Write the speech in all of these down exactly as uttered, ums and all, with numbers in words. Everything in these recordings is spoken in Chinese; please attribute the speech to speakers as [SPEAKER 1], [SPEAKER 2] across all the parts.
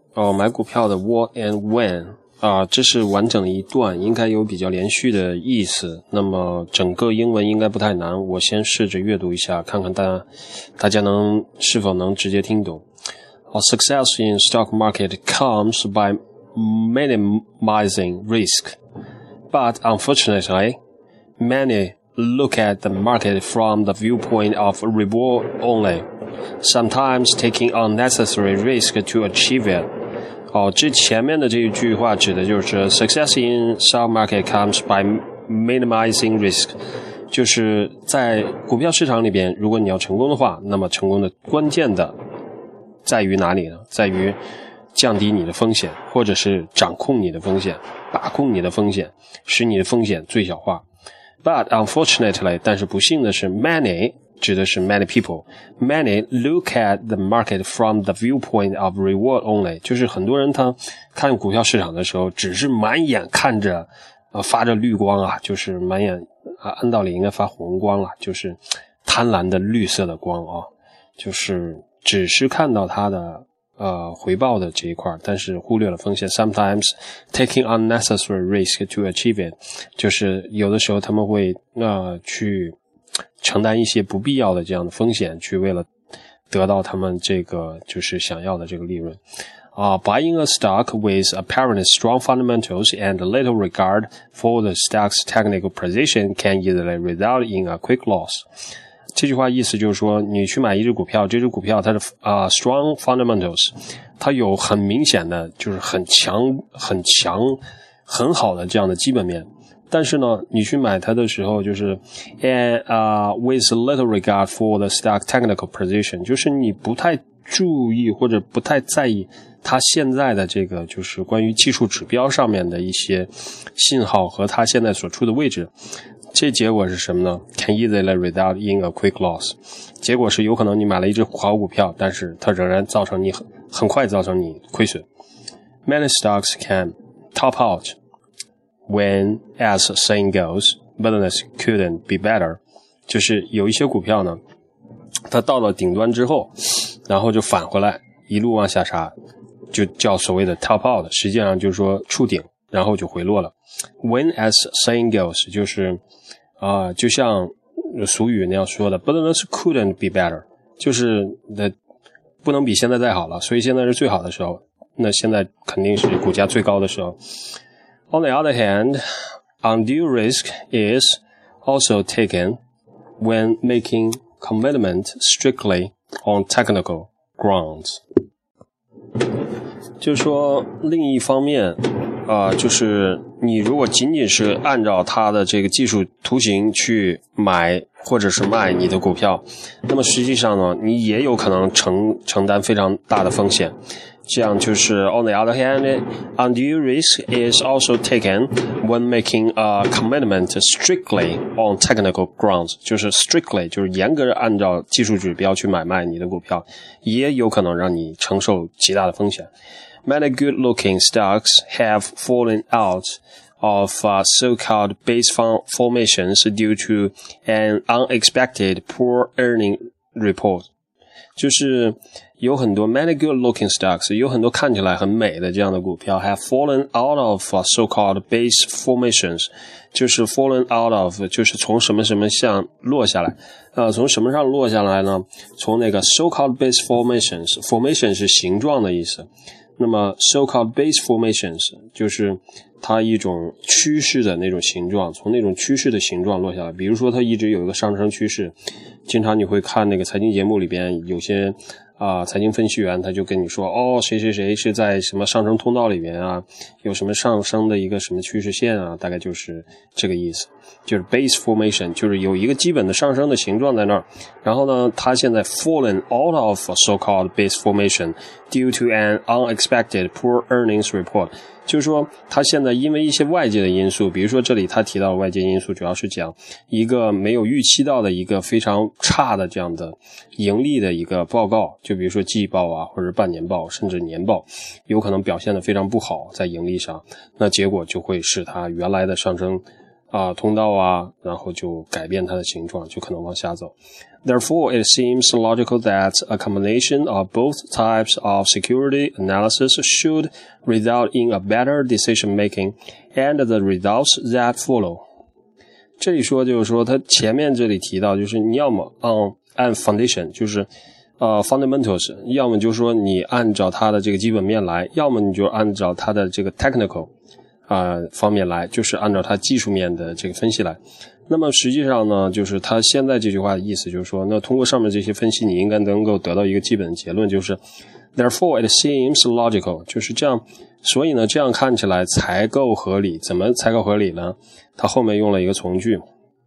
[SPEAKER 1] 哦，买股票的 what and when 啊，这是完整的一段，应该有比较连续的意思。那么整个英文应该不太难，我先试着阅读一下，看看大家大家能是否能直接听懂。Uh, success in stock market comes by minimizing risk, but unfortunately, many look at the market from the viewpoint of reward only, sometimes taking unnecessary risk to achieve it. 哦，这前面的这一句话指的就是 success in stock market comes by minimizing risk， 就是在股票市场里边，如果你要成功的话，那么成功的关键的在于哪里呢？在于降低你的风险，或者是掌控你的风险，把控你的风险，使你的风险最小化。But unfortunately， 但是不幸的是 many 指的是 many people many look at the market from the viewpoint of reward only， 就是很多人他看股票市场的时候只是满眼看着呃发着绿光啊，就是满眼啊按道理应该发红光了，就是贪婪的绿色的光啊，就是只是看到它的呃回报的这一块，但是忽略了风险。Sometimes taking unnecessary risk to achieve it， 就是有的时候他们会呃去承担一些不必要的这样的风险，去为了得到他们这个就是想要的这个利润。Uh, buying a stock with apparently strong fundamentals and little regard for the stock's technical position can easily result in a quick loss. 这句话意思就是说，你去买一只股票，这只股票它的啊、uh, strong fundamentals， 它有很明显的就是很强、很强、很好的这样的基本面。但是呢，你去买它的时候，就是 and uh, with little regard for the stock technical position， 就是你不太注意或者不太在意它现在的这个就是关于技术指标上面的一些信号和它现在所处的位置。这结果是什么呢？ Can easily result in a quick loss。 结果是有可能你买了一只好股票，但是它仍然造成你很很快造成你亏损。Many stocks can top out when, as saying goes, business couldn't be better。 就是有一些股票呢，它到了顶端之后，然后就返回来，一路往下杀，就叫所谓的 top out， 实际上就是说触顶，然后就回落了。When, as saying goes， 就是啊、呃，就像俗语那样说的 business couldn't be better， 就是的不能比现在再好了，所以现在是最好的时候，那现在肯定是股价最高的时候。On the other hand, undue risk is also taken when making commitment strictly on technical grounds。 就是说另一方面啊、呃，就是你如果仅仅是按照它的这个技术图形去买或者是卖你的股票，那么实际上呢，你也有可能承承担非常大的风险。这样就是 on the other hand, undue risk is also taken when making a commitment strictly on technical grounds， 就是 strictly 就是严格按照技术指标去买卖你的股票，也有可能让你承受极大的风险。Many good-looking stocks have fallen out of uh, so-called base formations due to an unexpected poor earning report。 就是有很多 many good-looking stocks， 有很多看起来很美的这样的股票 have fallen out of uh, so-called base formations， 就是 fallen out of 就是从什么什么项落下来，呃，从什么上落下来呢？从那个 so-called base formations， formation 是形状的意思。那么 so-called base formations 就是它一种趋势的那种形状，从那种趋势的形状落下来。比如说它一直有一个上升趋势，经常你会看那个财经节目里边有些啊、呃，财经分析员他就跟你说，哦，谁谁谁是在什么上升通道里边啊，有什么上升的一个什么趋势线啊，大概就是这个意思。就是 base formation， 就是有一个基本的上升的形状在那儿，然后呢，它现在 fallen out of so-called base formation due to an unexpected poor earnings report， 就是说它现在因为一些外界的因素，比如说这里他提到的外界因素主要是讲一个没有预期到的一个非常差的这样的盈利的一个报告，就比如说季报啊，或者半年报甚至年报，有可能表现得非常不好在盈利上，那结果就会使它原来的上升啊通道啊，然后就改变它的形状，就可能往下走。Therefore, it seems logical that a combination of both types of security analysis should result in a better decision making and the results that follow. 这里说就是说，它前面这里提到，就是你要么按按 foundation， 就是呃 fundamentals， 要么就是说你按照它的这个基本面来，要么你就按照它的这个 technical 啊、呃、方面来，就是按照它技术面的这个分析来。那么实际上呢，就是它现在这句话的意思就是说，那通过上面这些分析，你应该能够得到一个基本的结论，就是 therefore it seems logical， 就是这样，所以呢，这样看起来才够合理。怎么才够合理呢？它后面用了一个从句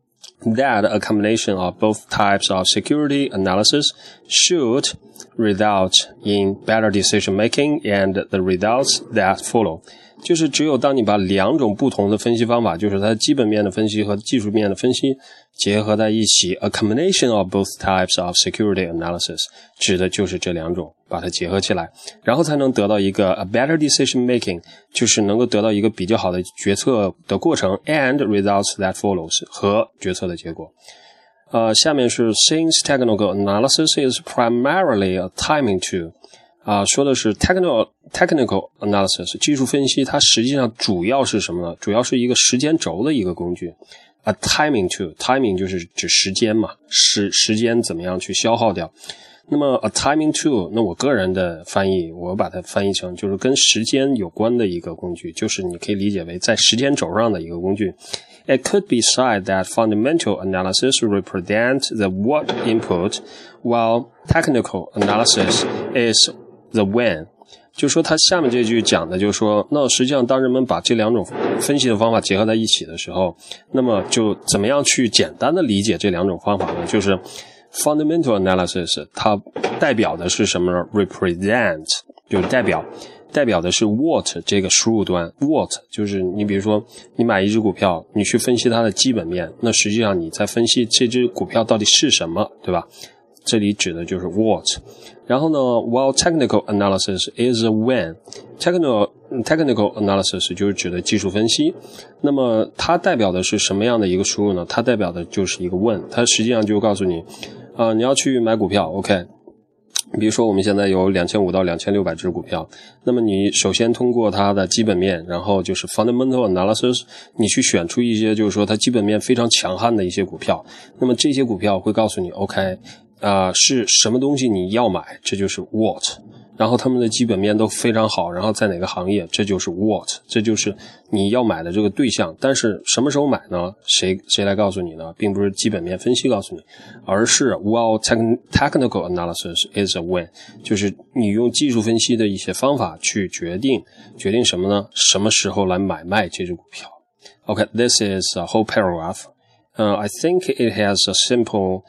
[SPEAKER 1] that a combination of both types of security analysis should result in better decision making and the results that follow。就是只有当你把两种不同的分析方法，就是它基本面的分析和技术面的分析结合在一起 ，a combination of both types of security analysis 指的就是这两种，把它结合起来，然后才能得到一个 a better decision making， 就是能够得到一个比较好的决策的过程 and results that follows 和决策的结果。呃，下面是 since technical analysis is primarily a timing tool。啊，说的是 technical technical analysis 技术分析，它实际上主要是什么呢？主要是一个时间轴的一个工具。A timing tool， timing 就是指时间嘛，时时间怎么样去消耗掉。那么 a timing tool， 那我个人的翻译，我把它翻译成就是跟时间有关的一个工具，就是你可以理解为在时间轴上的一个工具。It could be said that fundamental analysis represents the what input, while technical analysis is the when， 就是说它下面这句讲的就是说，那实际上当人们把这两种分析的方法结合在一起的时候，那么就怎么样去简单的理解这两种方法呢？就是 fundamental analysis 它代表的是什么呢？ represent 就是代表代表的是 what 这个输入端 what 就是你比如说你买一只股票，你去分析它的基本面，那实际上你在分析这只股票到底是什么，对吧？这里指的就是 what。 然后呢 while technical analysis is a when， technical technical analysis 就是指的技术分析，那么它代表的是什么样的一个输入呢？它代表的就是一个 when， 它实际上就告诉你啊、呃，你要去买股票 OK， 比如说我们现在有两千五百到两千六百只股票，那么你首先通过它的基本面，然后就是 fundamental analysis， 你去选出一些就是说它基本面非常强悍的一些股票，那么这些股票会告诉你 OK呃，是什么东西你要买，这就是 what， 然后他们的基本面都非常好，然后在哪个行业，这就是 what， 这就是你要买的这个对象。但是什么时候买呢？谁谁来告诉你呢？并不是基本面分析告诉你，而是 while technical analysis is a when， 就是你用技术分析的一些方法去决定决定什么呢？什么时候来买卖这只股票。 Okay, this is a whole paragraph、uh, I think it has a simple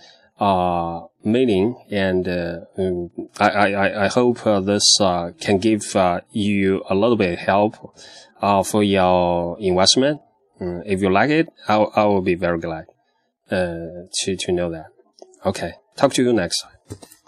[SPEAKER 1] uh meaning, and uh, um, I, I, I hope uh, this uh, can give uh, you a little bit of help uh, for your investment. Um, if you like it, I, I will be very glad uh, to, to know that. Okay, talk to you next time.